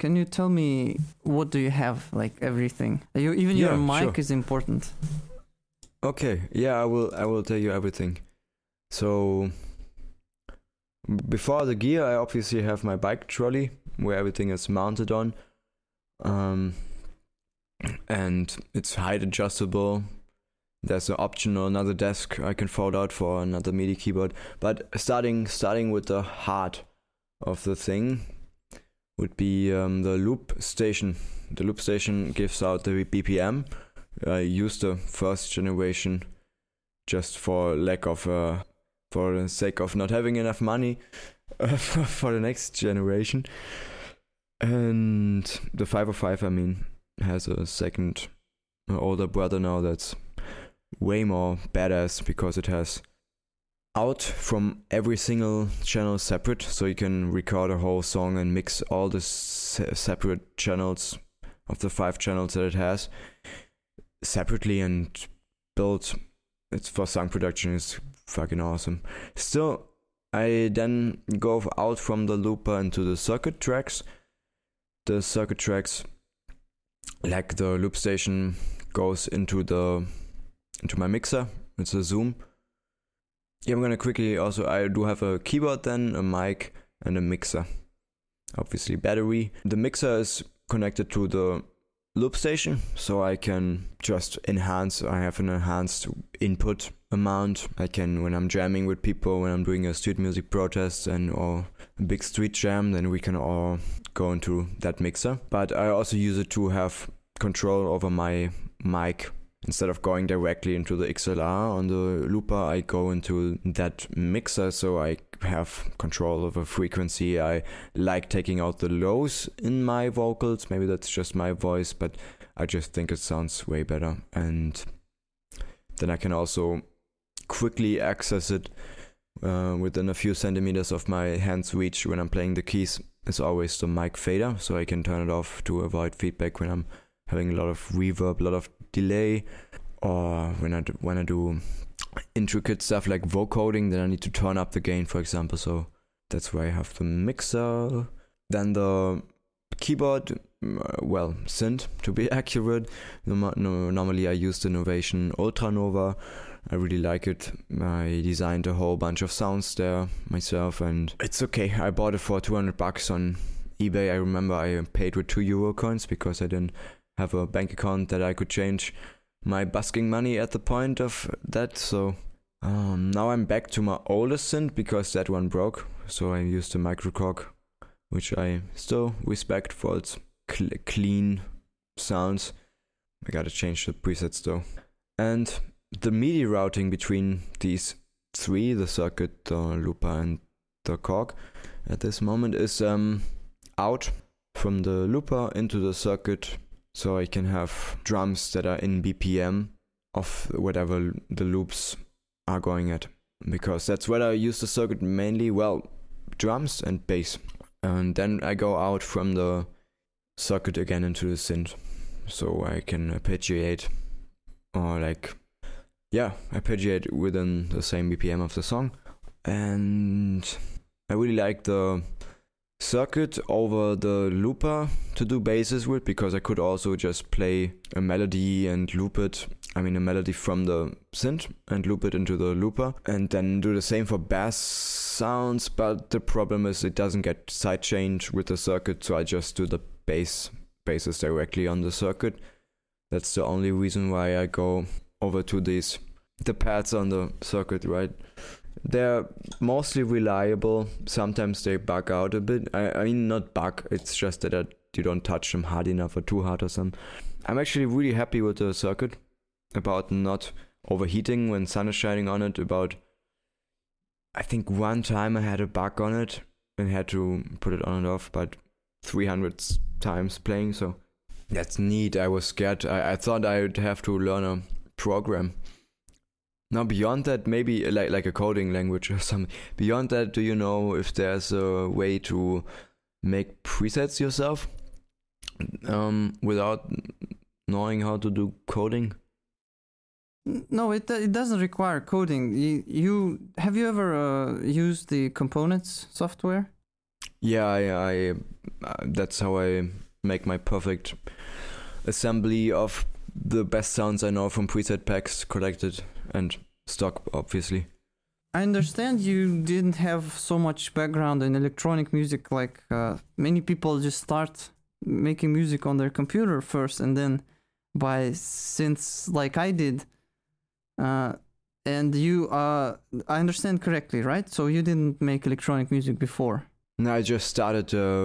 can you tell me what do you have? Like everything. Even your mic is important. Okay, yeah, I will tell you everything. So before the gear, I obviously have my bike trolley where everything is mounted on, and it's height adjustable. There's an optional another desk I can fold out for another MIDI keyboard. But starting with the heart of the thing would be the loop station. The loop station gives out the BPM. I used the first generation just for the sake of not having enough money for the next generation. And the 505, I mean, has a second older brother now that's way more badass because it has out from every single channel separate, so you can record a whole song and mix all the separate channels of the 5 channels that it has separately and build. It's for song production. Is fucking awesome. Still, I then go out from the looper into the circuit tracks. The circuit tracks, like the loop station, goes into my mixer. It's a Zoom. Yeah, I'm gonna quickly also, I do have a keyboard then, a mic, and a mixer. Obviously battery. The mixer is connected to the loop station, so I can just enhance. I have an enhanced input amount. I can, when I'm jamming with people, when I'm doing a street music protest or a big street jam, then we can all go into that mixer. But I also use it to have control over my mic. Instead of going directly into the XLR on the looper, I go into that mixer, so I have control over frequency. I like taking out the lows in my vocals. Maybe that's just my voice, but I just think it sounds way better. And then I can also quickly access it within a few centimeters of my hand's reach when I'm playing the keys. It's always the mic fader, so I can turn it off to avoid feedback when I'm having a lot of reverb, a lot of delay, or when I do intricate stuff like vocoding, then I need to turn up the gain, for example. So that's why I have the mixer. Then the keyboard, synth to be accurate. Normally I use the Novation Ultranova. I really like it. I designed a whole bunch of sounds there myself, and it's okay. I bought it for $200 on eBay. I remember I paid with €2 coins because I didn't have a bank account that I could change my busking money at the point of that. So now I'm back to my oldest synth because that one broke. So I used the Microcorg, which I still respect for its clean sounds. I gotta change the presets though. And the MIDI routing between these 3, the circuit, the looper and the Korg at this moment is out from the looper into the circuit. So I can have drums that are in BPM of whatever the loops are going at. Because that's where I use the circuit mainly, drums and bass. And then I go out from the circuit again into the synth. So I can arpeggiate arpeggiate within the same BPM of the song. And I really like the circuit over the looper to do basses with, because I could also just play a melody and loop it. I mean, a melody from the synth and loop it into the looper, and then do the same for bass sounds. But the problem is it doesn't get sidechained with the circuit, so I just do the basses directly on the circuit. That's the only reason why I go over to the pads on the circuit, right? They're mostly reliable. Sometimes they bug out a bit. I mean, not bug. It's just that you don't touch them hard enough or too hard or something. I'm actually really happy with the circuit about not overheating when sun is shining on it. I think one time I had a bug on it and had to put it on and off, but 300 times playing, so that's neat. I was scared. I thought I would have to learn a program. Now beyond that, maybe like a coding language or something. Beyond that, do you know if there's a way to make presets yourself without knowing how to do coding? No, it doesn't require coding. Have you ever used the Components software? Yeah, I that's how I make my perfect assembly of the best sounds I know from preset packs collected and stock, obviously. I understand you didn't have so much background in electronic music. Like many people just start making music on their computer first, and then by synths, like I did. And you, I understand correctly, right? So you didn't make electronic music before. No, I just started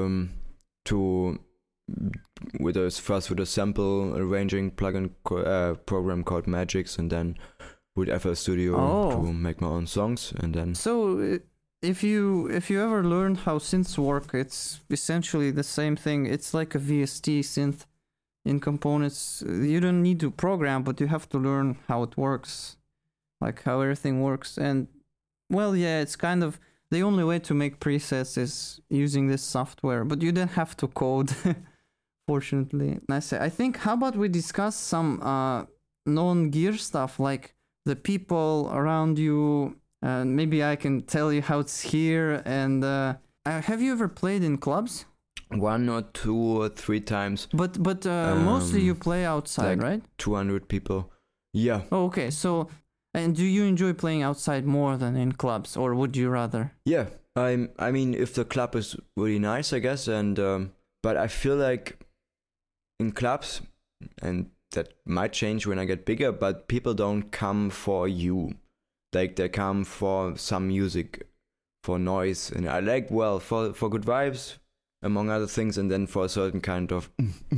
with a sample arranging plugin program called Magix, and then with FL Studio to make my own songs, and then. So if you ever learn how synths work, it's essentially the same thing. It's like a VST synth in components. You don't need to program, but you have to learn how it works, like how everything works. And well, yeah, it's kind of the only way to make presets is using this software, but you don't have to code. Fortunately, I think. How about we discuss some non-gear stuff, like the people around you, and maybe I can tell you how it's here. And have you ever played in clubs? 1 or 2 or 3 times. But mostly you play outside, like right? 200 people. Yeah. Oh, okay. So, and do you enjoy playing outside more than in clubs, or would you rather? Yeah. I mean, if the club is really nice, I guess, and but I feel like in clubs, and that might change when I get bigger, but people don't come for you. Like, they come for some music, for noise, and I like, well, for good vibes, among other things, and then for a certain kind of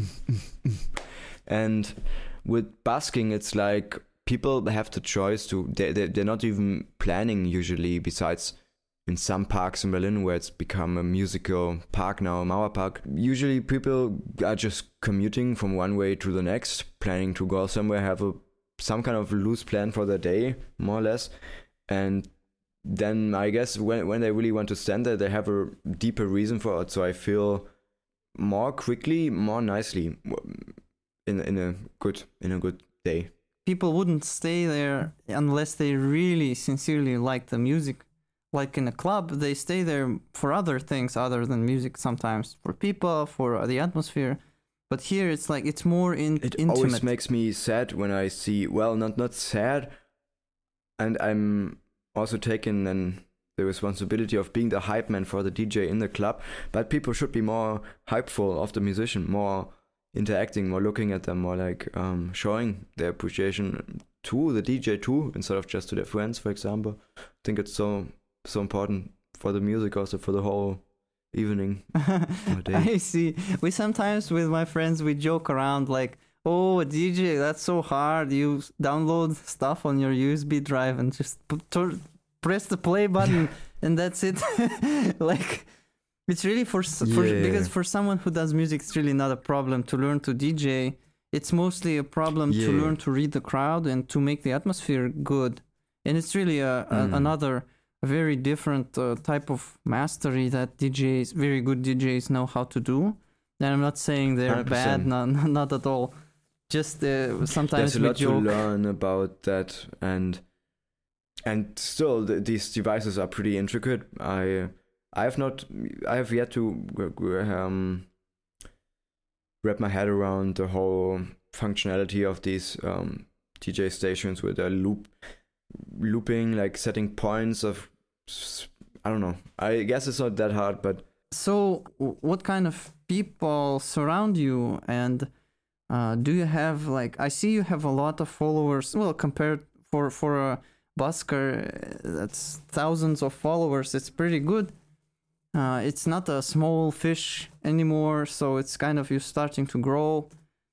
and with busking, it's like people have the choice to, they're not even planning usually, besides in some parks in Berlin where it's become a musical park now, Mauerpark. Usually people are just commuting from one way to the next, planning to go somewhere, have some kind of loose plan for the day, more or less. And then I guess when they really want to stand there, they have a deeper reason for it. So I feel more quickly, more nicely in a good day. People wouldn't stay there unless they really sincerely like the music. Like in a club, they stay there for other things other than music sometimes, for people, for the atmosphere. But here it's like it's more intimate. It always makes me sad when I see, well, not sad, and I'm also taking the responsibility of being the hype man for the DJ in the club, but people should be more hypeful of the musician, more interacting, more looking at them, more like showing their appreciation to the DJ too, instead of just to their friends, for example. I think it's so important for the music, also for the whole evening or day. I see. We sometimes with my friends we joke around like, oh, a DJ, that's so hard. You download stuff on your USB drive and just press the play button and that's it. Like, it's really because for someone who does music, it's really not a problem to learn to DJ. It's mostly a problem to learn to read the crowd and to make the atmosphere good. And it's really another very different type of mastery that DJs, very good DJs, know how to do. And I'm not saying they're 100%. Bad, not at all. Just sometimes there's a lot to learn about that, and still these devices are pretty intricate. I have yet to wrap my head around the whole functionality of these DJ stations with a looping, like setting points of, I don't know. I guess it's not that hard, but. So what kind of people surround you, and do you have, like, I see you have a lot of followers, well, compared for a busker, that's thousands of followers. It's pretty good. It's not a small fish anymore, so it's kind of, you're starting to grow.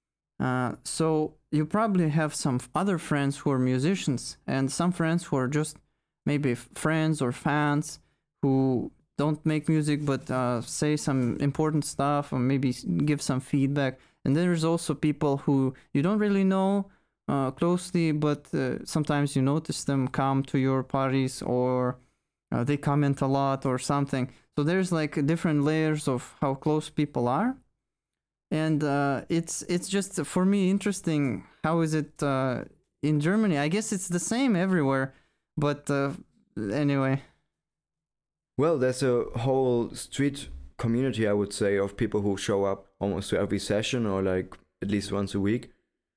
So you probably have some other friends who are musicians, and some friends who are just maybe friends or fans who don't make music but say some important stuff or maybe give some feedback. And then there's also people who you don't really know closely, but sometimes you notice them come to your parties, or they comment a lot or something. So there's like different layers of how close people are. And it's just, for me, interesting. How is it in Germany? I guess it's the same everywhere, but anyway. Well, there's a whole street community, I would say, of people who show up almost to every session or like at least once a week.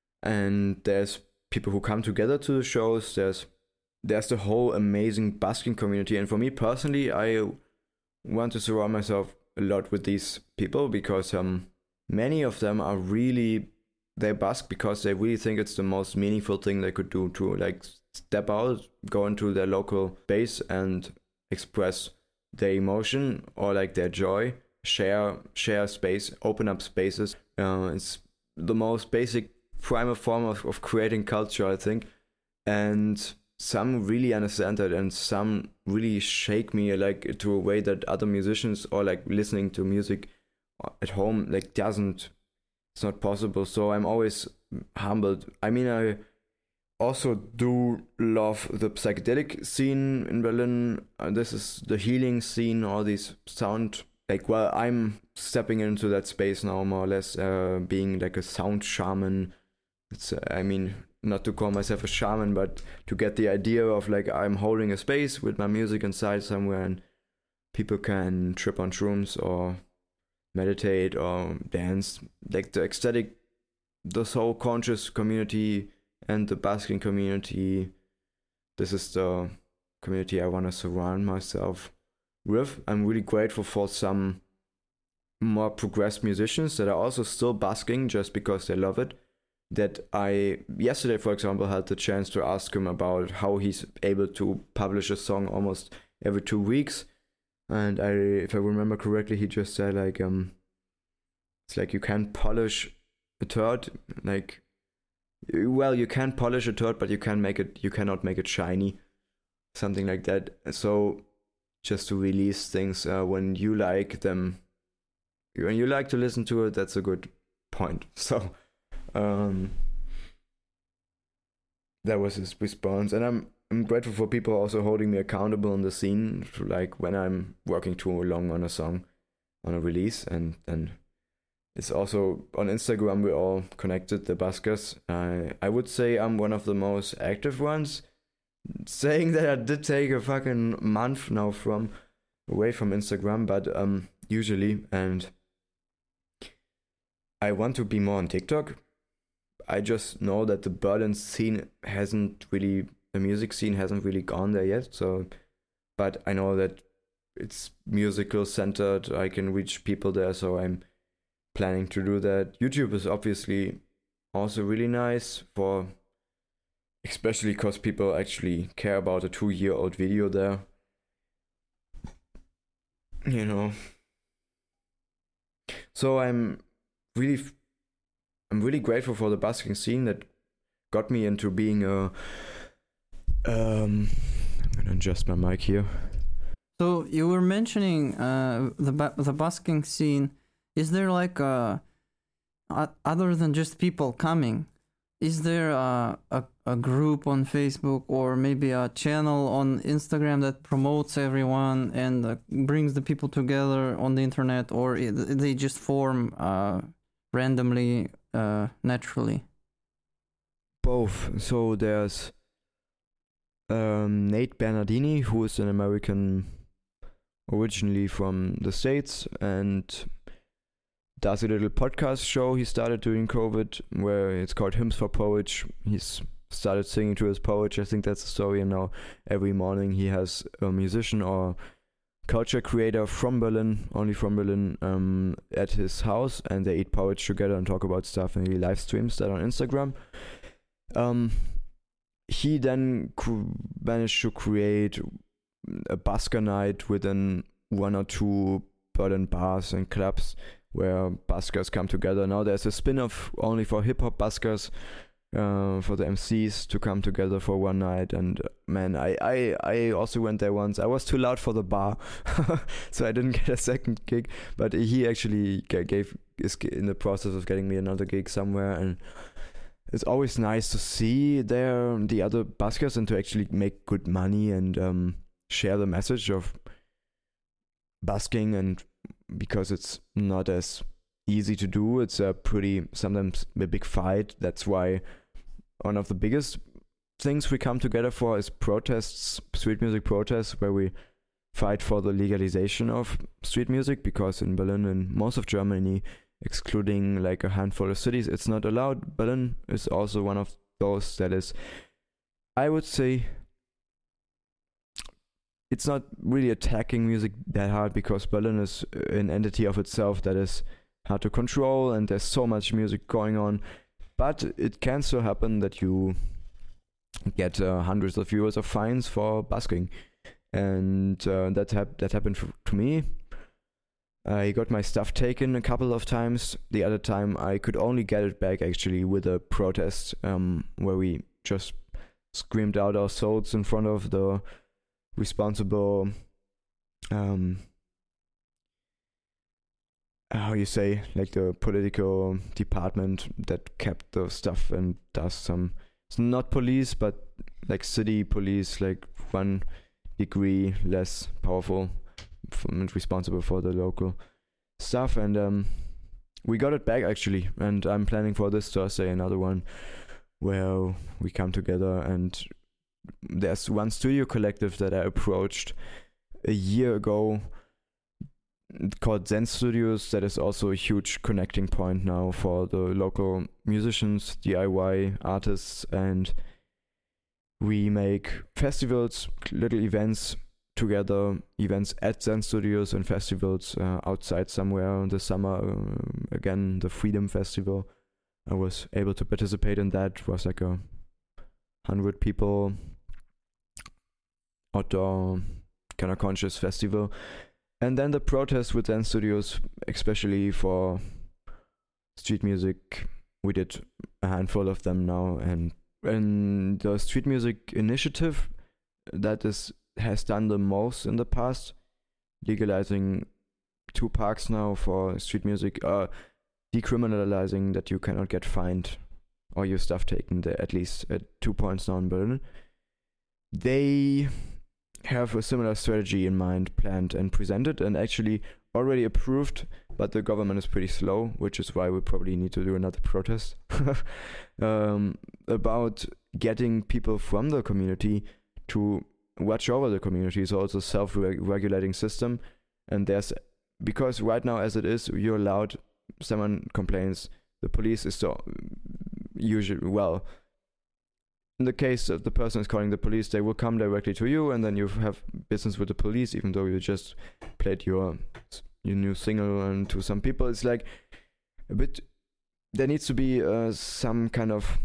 And there's people who come together to the shows. There's the whole amazing busking community. And for me personally, I want to surround myself a lot with these people because many of them are really, they busk because they really think it's the most meaningful thing they could do, to like step out, go into their local base and express their emotion or like their joy, share space, open up spaces. It's the most basic primal form of creating culture, I think. And some really understand that, and some really shake me like to a way that other musicians or like listening to music at home like it's not possible. So I'm always humbled. I mean, I also do love the psychedelic scene in Berlin. This is the healing scene, all these sound, like, well, I'm stepping into that space now, more or less, being like a sound shaman. It's, I mean, not to call myself a shaman, but to get the idea of like I'm holding a space with my music inside somewhere, and people can trip on shrooms or meditate or dance. Like the ecstatic, the soul conscious community and the basking community, this is the community I want to surround myself with. I'm really grateful for some more progressed musicians that are also still basking just because they love it. That I, yesterday for example, had the chance to ask him about how he's able to publish a song almost every 2 weeks. And if I remember correctly, he just said like, it's like you can't polish a turd, like, well, you can polish a turd, but you cannot make it shiny, something like that. So just to release things when you like them, when you like to listen to it, that's a good point. So that was his response, and I'm grateful for people also holding me accountable in the scene, like when I'm working too long on a song, on a release, and it's also on Instagram we're all connected, the buskers. I would say I'm one of the most active ones, saying that I did take a fucking month now away from Instagram, but usually, and I want to be more on TikTok. I just know that the Berlin scene the music scene hasn't really gone there yet. So, but I know that it's musical centered. I can reach people there, so I'm planning to do that. YouTube is obviously also really nice especially because people actually care about a 2-year-old video there. You know. So I'm really grateful for the busking scene that got me into being a I'm gonna adjust my mic here. So you were mentioning the busking scene. Is there like other than just people coming, is there a group on Facebook or maybe a channel on Instagram that promotes everyone and brings the people together on the internet, or they just form randomly, naturally? Both. So there's Nate Bernardini, who is an American originally from the States and does a little podcast show he started during COVID where it's called Hymns for Poets. He's started singing to his poets. I think that's the story. And now every morning he has a musician or culture creator from Berlin, only from Berlin, at his house, and they eat porridge together and talk about stuff, and he live streams that on Instagram. He then managed to create a busker night within 1 or 2 Berlin bars and clubs where buskers come together. Now there's a spin-off only for hip-hop buskers, for the MCs to come together for one night. And man, I also went there once. I was too loud for the bar, so I didn't get a second gig, but he actually is in the process of getting me another gig somewhere. And it's always nice to see the other buskers and to actually make good money and share the message of busking. And because it's not as easy to do, it's sometimes a big fight. That's why one of the biggest things we come together for is protests, street music protests, where we fight for the legalization of street music, because in Berlin and most of Germany, excluding like a handful of cities, it's not allowed. Berlin is also one of those that is, I would say, it's not really attacking music that hard, because Berlin is an entity of itself that is hard to control, and there's so much music going on. But it can still happen that you get hundreds of euros of fines for busking, and that happened to me. I got my stuff taken a couple of times. The other time I could only get it back actually with a protest, where we just screamed out our souls in front of the responsible, how you say, like the political department that kept the stuff and does some, it's not police, but like city police, like 1 degree less powerful and responsible for the local stuff. And we got it back actually, and I'm planning for this Thursday another one where we come together. And there's one studio collective that I approached a year ago called Zen Studios, that is also a huge connecting point now for the local musicians, DIY artists, and we make festivals, little events together, events at Zen Studios and festivals outside somewhere in the summer. Again, the Freedom Festival, I was able to participate in that. It was like 100 people outdoor kind of conscious festival. And then the protests with Zen Studios, especially for street music, we did a handful of them now. And the street music initiative that has done the most in the past, legalizing 2 parks now for street music, decriminalizing that you cannot get fined or your stuff taken there, at least at 2 points now in Berlin. They have a similar strategy in mind, planned and presented, and actually already approved, but the government is pretty slow, which is why we probably need to do another protest about getting people from the community to watch over the community. So it's a self-regulating system, and because right now as it is, you're allowed, someone complains, the police is so usually, well, in the case that the person is calling the police, they will come directly to you, and then you have business with the police, even though you just played your new single. And to some people, it's like a bit. There needs to be some kind of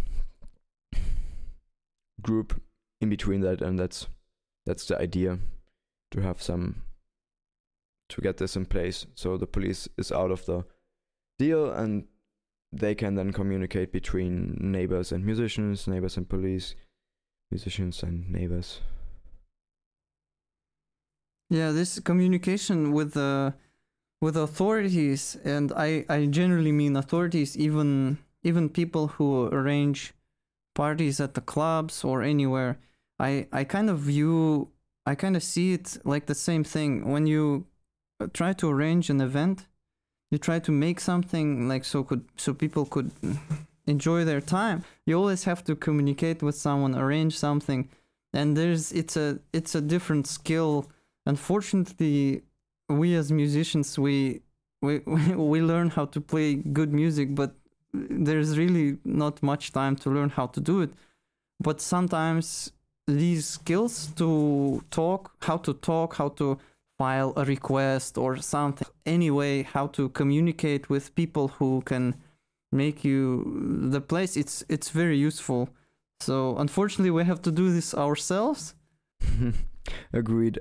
group in between that, and that's the idea, to have to get this in place, so the police is out of the deal, and they can then communicate between neighbors and musicians, neighbors and police, musicians and neighbors. Yeah, this communication with authorities, and I generally mean authorities, even people who arrange parties at the clubs or anywhere. I kind of see it like the same thing. When you try to arrange an event, you try to make something like so people could enjoy their time. You always have to communicate with someone, arrange something, and it's a different skill. Unfortunately, we as musicians we learn how to play good music, but there's really not much time to learn how to do it. But sometimes these skills to how to file a request or something, anyway, how to communicate with people who can make you the place, it's very useful. So unfortunately we have to do this ourselves. Agreed.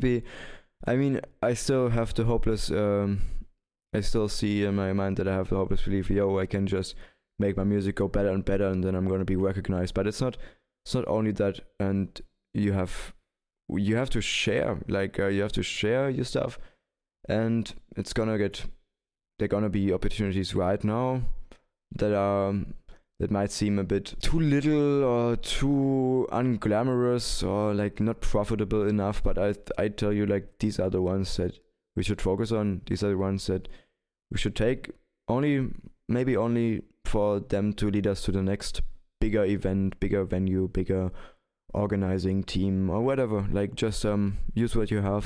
I still have the hopeless I still see in my mind that I have the hopeless belief, I can just make my music go better and better, and then I'm going to be recognized. But it's not only that, and you have to share, you have to share your stuff, and there are gonna be opportunities right now that might seem a bit too little or too unglamorous or not profitable enough, but I tell you, these are the ones that we should focus on. These are the ones that we should take, maybe only for them to lead us to the next bigger event, bigger venue, bigger organizing team or whatever. Just use what you have.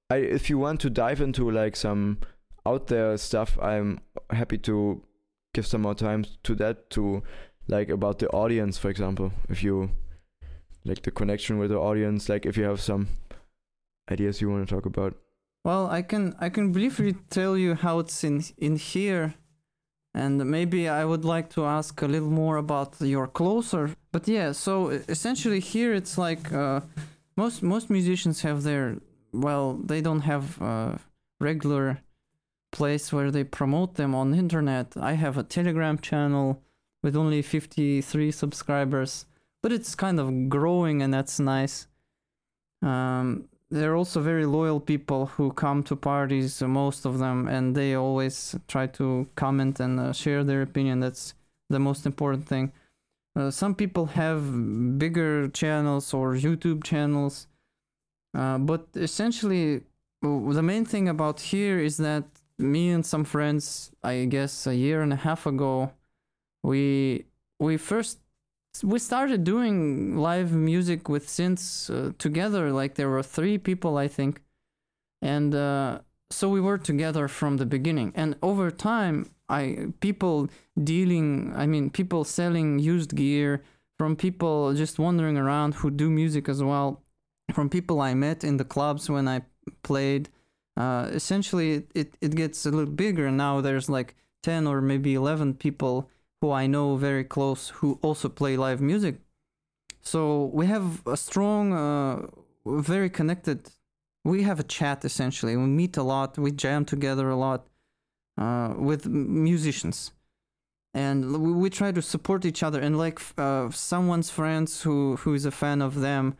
if you want to dive into like some out there stuff, I'm happy to give some more time to that, to like about the audience, for example. If you like the connection with the audience, like if you have some ideas you want to talk about. Well, I can briefly tell you how it's in here, and maybe I would like to ask a little more about your closer. But yeah, so essentially here it's like most musicians have their, well, they don't have a regular place where they promote them on the internet. I have a Telegram channel with only 53 subscribers, but it's kind of growing, and that's nice. They're also very loyal people who come to parties, most of them, and they always try to comment and share their opinion. That's the most important thing. Some people have bigger channels or YouTube channels, but essentially the main thing about here is that me and some friends, I guess a year and a half ago, we started doing live music with synths together. Like there were 3 people, I think, and so we were together from the beginning. And over time, people selling used gear, from people just wandering around who do music as well, from people I met in the clubs when I played. Essentially, it gets a little bigger. Now there's like 10 or maybe 11 people who I know very close who also play live music. So we have a strong, very connected, we have a chat essentially. We meet a lot, we jam together a lot with musicians. And we try to support each other. And like someone's friends who is a fan of them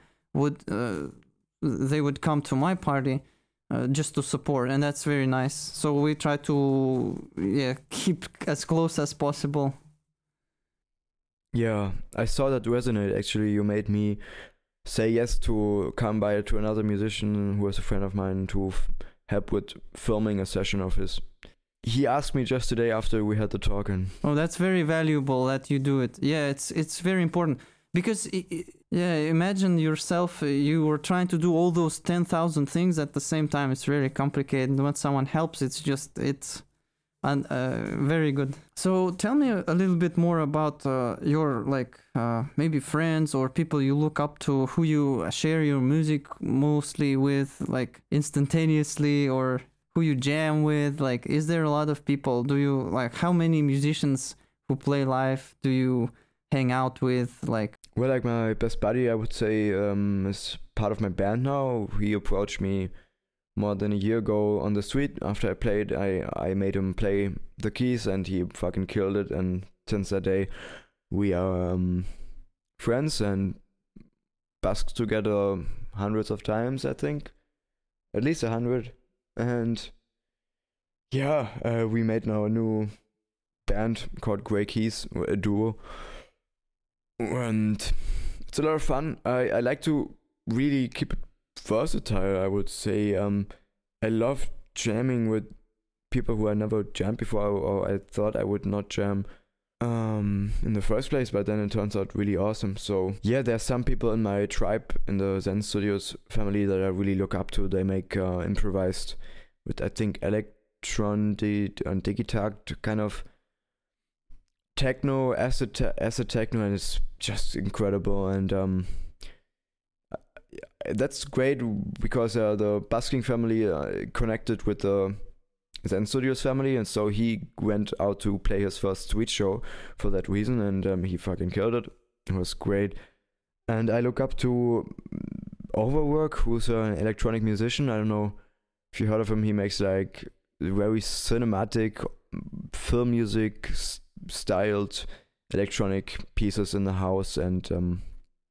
they would come to my party just to support, and that's very nice. So we try to keep as close as possible. Yeah, I saw that resonate. Actually, you made me say yes to come by to another musician who was a friend of mine to help with filming a session of his. He asked me just today after we had the talk, and that's very valuable that you do it. Yeah, it's very important, because imagine yourself, you were trying to do all those 10,000 things at the same time. It's very complicated. When someone helps, it's very good. So tell me a little bit more about your maybe friends or people you look up to, who you share your music mostly with, like instantaneously, or who you jam with. Like, is there a lot of people? Do you how many musicians who play live do you hang out with? Well, like my best buddy, I would say, is part of my band now. He approached me more than a year ago on the street after I played. I made him play the keys, and he fucking killed it. And since that day, we are friends and busked together hundreds of times, I think. At least 100. And yeah, we made now a new band called Grey Keys, a duo. And it's a lot of fun. I like to really keep it versatile, I would say. I love jamming with people who I never jammed before, or I thought I would not jam in the first place, but then it turns out really awesome. So yeah, there's some people in my tribe, in the Zen Studios family, that I really look up to. They make improvised with, I think, Electron and Digitakt kind of techno, acid techno, and it's just incredible. And that's great because the busking family connected with the Zen Studios family, and so he went out to play his first street show for that reason, and he fucking killed it. It was great. And I look up to Overwork, who's an electronic musician. I don't know if you heard of him. He makes like very cinematic film music styled electronic pieces in the house, and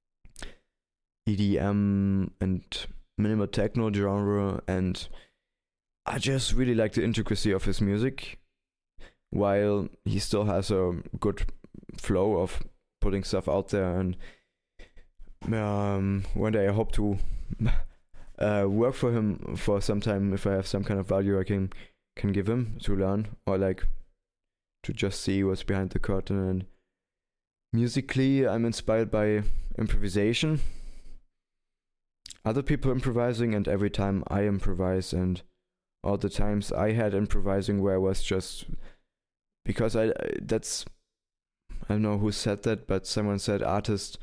EDM and minimal techno genre, and I just really like the intricacy of his music, while he still has a good flow of putting stuff out there. And one day I hope to work for him for some time. If I have some kind of value I can give him to learn, or like to just see what's behind the curtain. And musically, I'm inspired by improvisation. other people improvising and every time I improvise, and all the times I had improvising where I was just because I don't know who said that, but someone said artists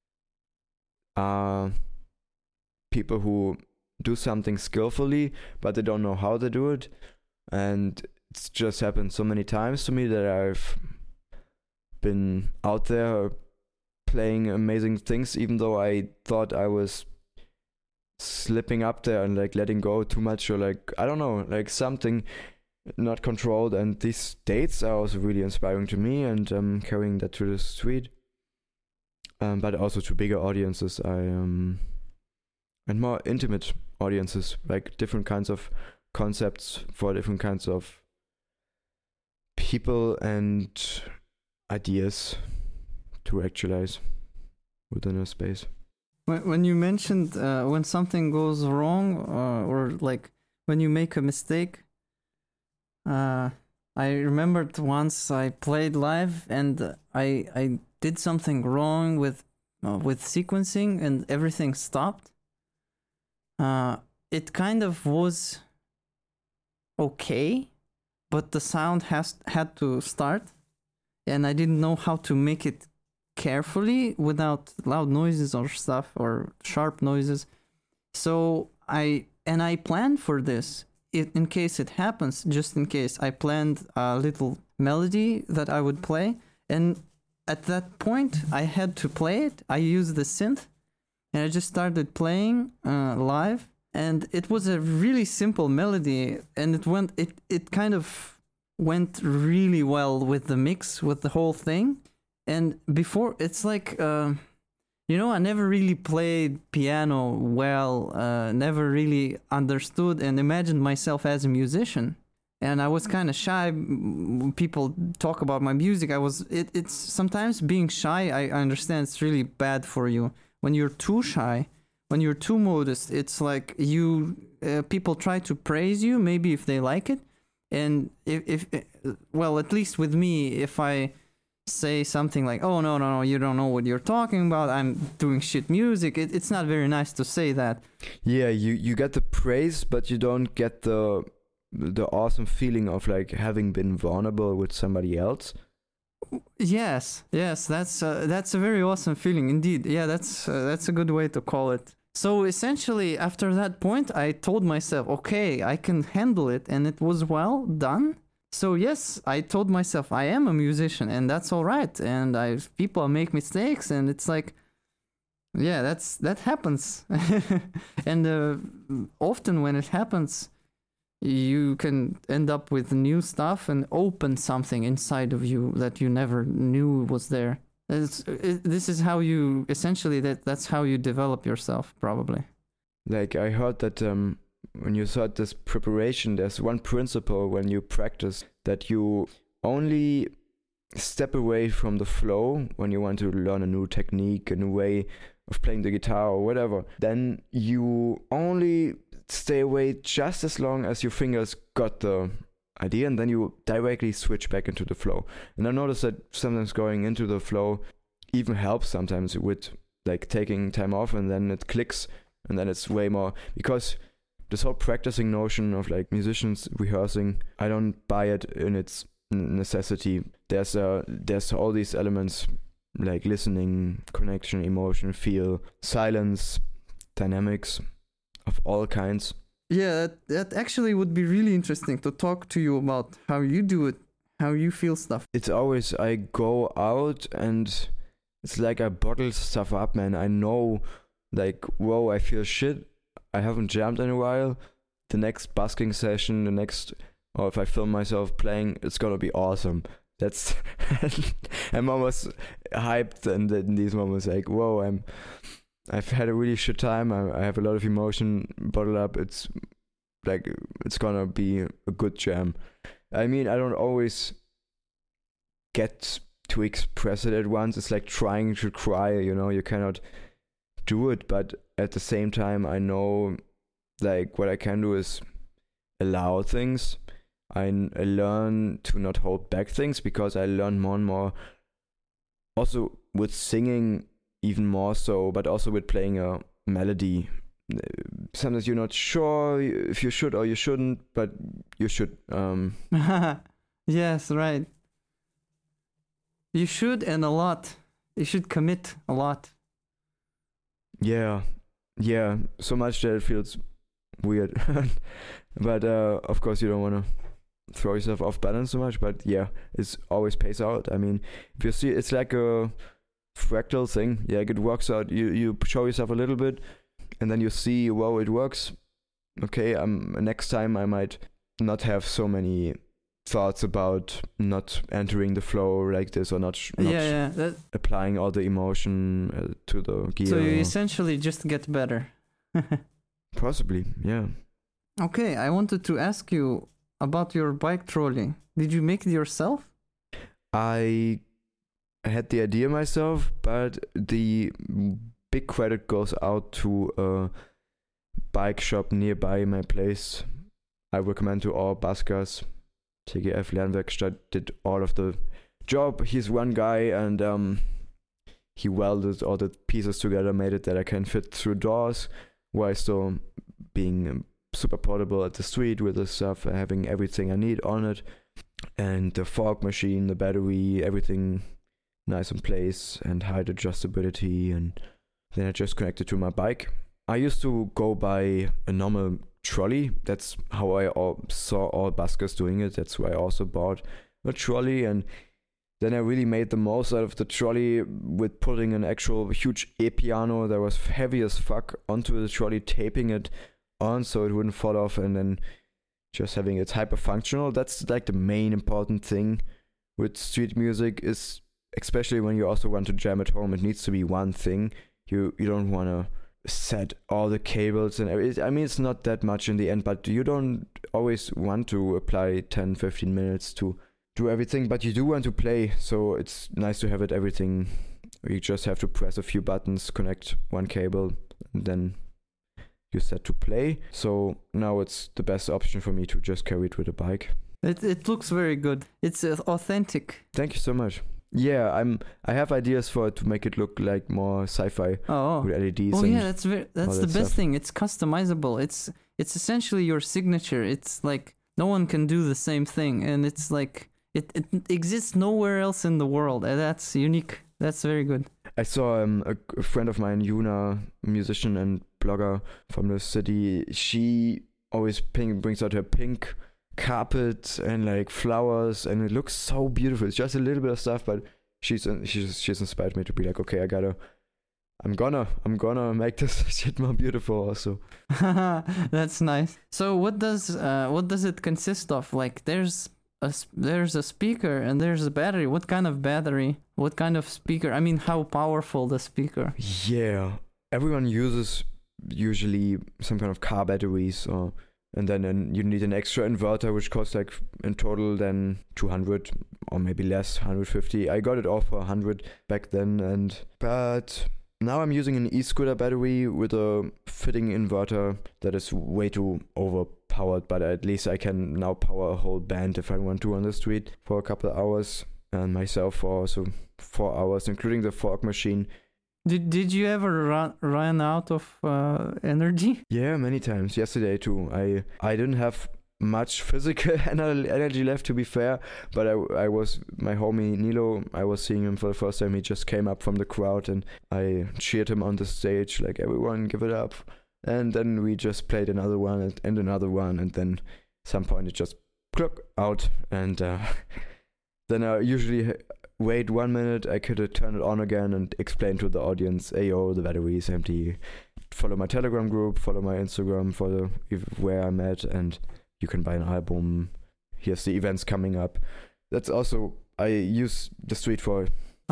are people who do something skillfully but they don't know how to do it, and it's just happened so many times to me that I've been out there playing amazing things even though I thought I was slipping up there and like letting go too much, or like I don't know, like something not controlled. And these dates are also really inspiring to me, and carrying that to the street, but also to bigger audiences. And more intimate audiences, like different kinds of concepts for different kinds of people and ideas to actualize within a space. When you mentioned when something goes wrong, or like when you make a mistake, I remembered once I played live and I did something wrong with sequencing and everything stopped. It kind of was okay, but the sound had to start, and I didn't know how to make it carefully without loud noises or stuff or sharp noises. So I planned for this in case it happens. Just in case, I planned a little melody that I would play, and at that point I had to play it. I used the synth and I just started playing live, and it was a really simple melody, and it kind of went really well with the mix, with the whole thing. And before, it's like, I never really played piano well, never really understood and imagined myself as a musician. And I was kind of shy. People talk about my music. It's sometimes being shy, I understand it's really bad for you. When you're too shy, when you're too modest, it's like people try to praise you, maybe if they like it. And if at least with me, if I say something like, oh no, you don't know what you're talking about, I'm doing shit music, it's not very nice to say that. Yeah, you get the praise, but you don't get the awesome feeling of like having been vulnerable with somebody else. Yes, that's a very awesome feeling indeed. Yeah, that's a good way to call it. So essentially, after that point, I told myself, okay, I can handle it, and it was well done. So yes, I told myself I am a musician, and that's all right. And people make mistakes, and it's like, yeah, that happens. And often when it happens, you can end up with new stuff and open something inside of you that you never knew was there. This is how you essentially that's how you develop yourself, probably. Like I heard that when you start this preparation, there's one principle when you practice that you only step away from the flow when you want to learn a new technique, a new way of playing the guitar or whatever. Then you only stay away just as long as your fingers got the idea, and then you directly switch back into the flow. And I noticed that sometimes going into the flow even helps sometimes with like taking time off, and then it clicks, and then it's way more, because this whole practicing notion of like musicians rehearsing, I don't buy it in its necessity. There's all these elements like listening, connection, emotion, feel, silence, dynamics of all kinds. Yeah, that actually would be really interesting to talk to you about how you do it, how you feel stuff. It's always, I go out and it's like I bottle stuff up, man. I know, like, whoa, I feel shit. I haven't jammed in a while. The next busking session, or if I film myself playing, it's gonna be awesome. That's, I'm almost hyped in these moments, like, whoa, I've had a really shit time. I have a lot of emotion bottled up. It's like, it's gonna be a good jam. I mean, I don't always get to express it at once. It's like trying to cry, you cannot do it. But at the same time, I know like what I can do is allow things. I learn to not hold back things, because I learn more and more also with singing, even more so, but also with playing a melody, sometimes you're not sure if you should or you shouldn't, but you should. Yes, right. You should, and a lot. You should commit a lot. Yeah, so much that it feels weird. But of course, you don't want to throw yourself off balance so much. But yeah, it's always pays out. I mean, if you see, it's like a fractal thing. Yeah, it works out. You show yourself a little bit, and then you see, wow, it works. Okay, next time I might not have so many thoughts about not entering the flow like this, or not applying all the emotion to the gear. So you essentially just get better. Possibly, yeah. Okay, I wanted to ask you about your bike trolley. Did you make it yourself? I had the idea myself, but the big credit goes out to a bike shop nearby my place. I recommend to all buskers. TGF Lernwerkstatt did all of the job. He's one guy, and he welded all the pieces together, made it that I can fit through doors, while still being super portable at the street with the stuff, having everything I need on it, and the fork machine, the battery, everything nice in place, and height adjustability. And then I just connected to my bike. I used to go by a normal trolley. That's how I saw all buskers doing it. That's why I also bought a trolley, and then I really made the most out of the trolley with putting an actual huge e-piano that was heavy as fuck onto the trolley, taping it on so it wouldn't fall off, and then just having it hyper functional. That's like the main important thing with street music, is especially when you also want to jam at home, it needs to be one thing. You don't want to set all the cables and everything. I mean, it's not that much in the end, but you don't always want to apply 10-15 minutes to do everything, but you do want to play, so it's nice to have it everything. You just have to press a few buttons, connect one cable, and then you're set to play. So now it's the best option for me to just carry it with a bike. It looks very good. It's authentic. Thank you so much. Yeah, I have ideas for it to make it look like more sci-fi with LEDs. Oh yeah, that's the best thing. It's customizable. It's essentially your signature. It's like no one can do the same thing, and it's like it exists nowhere else in the world. And that's unique. That's very good. I saw a friend of mine, Yuna, musician and blogger from the city. She always brings out her pink carpet and like flowers, and it looks so beautiful. It's just a little bit of stuff, but she's inspired me to be like, okay, I'm gonna make this shit more beautiful also. That's nice. So what does it consist of? Like there's a speaker and there's a battery. What kind of battery? What kind of speaker? I mean, how powerful the speaker? Yeah, everyone uses usually some kind of car batteries, and then you need an extra inverter, which costs like in total then 200 or maybe less, 150. I got it all for 100 back then, but now I'm using an e-scooter battery with a fitting inverter that is way too overpowered, but at least I can now power a whole band if I want to on the street for a couple of hours, and myself for also 4 hours, including the fork machine. Did you ever run out of energy? Yeah, many times. Yesterday too. I didn't have much physical energy left, to be fair, but I was, my homie Nilo, I was seeing him for the first time. He just came up from the crowd and I cheered him on the stage like, everyone give it up. And then we just played another one and another one, and then at some point it just cluck out, and then I usually wait 1 minute, I could turn it on again and explain to the audience, hey yo, the battery is empty. Follow my Telegram group, follow my Instagram, follow where I'm at, and you can buy an album. Here's the events coming up. That's also, I use the street for.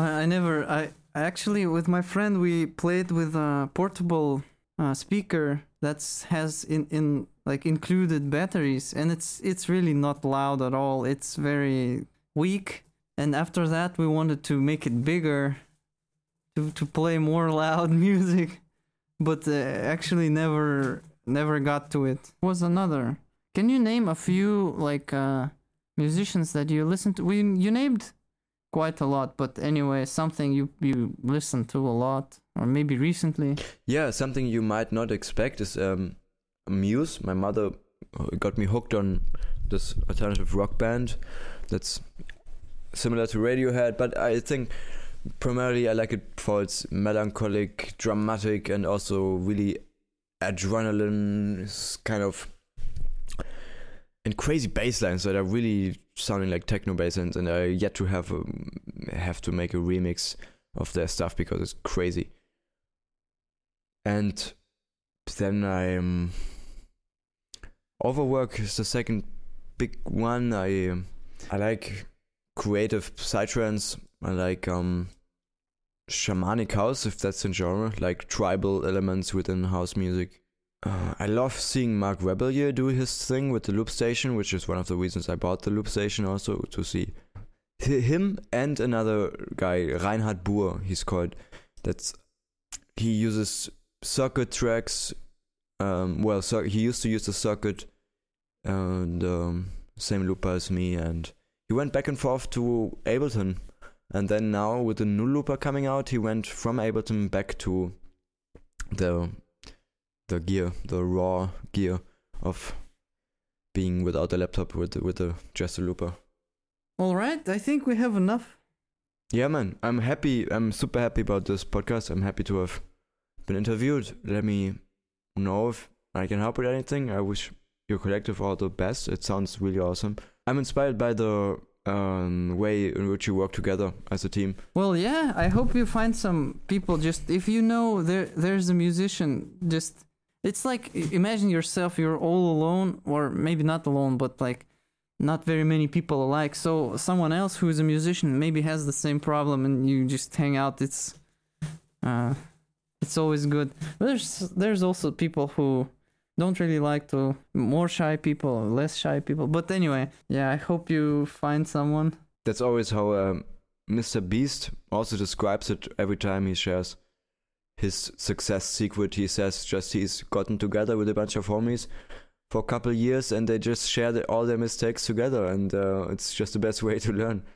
I actually, with my friend, we played with a portable speaker that has in like included batteries, and it's really not loud at all. It's very weak. And after that, we wanted to make it bigger, to play more loud music, but actually never got to it. Was another. Can you name a few like musicians that you listen to? You named quite a lot, but anyway, something you listen to a lot. or maybe recently? Yeah, something you might not expect is Muse. My mother got me hooked on this alternative rock band that's similar to Radiohead, but I think primarily I like it for its melancholic, dramatic, and also really adrenaline kind of, and crazy bass lines that are really sounding like techno bass lines, and I yet to have to make a remix of their stuff because it's crazy. And then Overwork is the second big one. I like creative psytrance. I like shamanic house, if that's a genre, like tribal elements within house music. I love seeing Mark Rebellier do his thing with the Loop Station, which is one of the reasons I bought the Loop Station also, to see him and another guy, Reinhard Buhr, he's called. He uses circuit tracks. He used to use the circuit and same looper as me, and he went back and forth to Ableton. And then now with the new looper coming out, he went from Ableton back to the raw gear of being without a laptop with just a looper. All right, I think we have enough. Yeah, man, I'm happy. I'm super happy about this podcast. I'm happy to have been interviewed. Let me know if I can help with anything. I wish your collective all the best. It sounds really awesome. I'm inspired by the way in which you work together as a team. Well, yeah, I hope you find some people. Just if you know there's a musician, just it's like, imagine yourself, you're all alone, or maybe not alone, but like not very many people alike. So someone else who is a musician maybe has the same problem, and you just hang out. It's always good. But there's also people who don't really like to, more shy people or less shy people. But anyway, yeah, I hope you find someone. That's always how Mr. Beast also describes it every time he shares his success secret. He says just he's gotten together with a bunch of homies for a couple of years and they just share all their mistakes together, and it's just the best way to learn.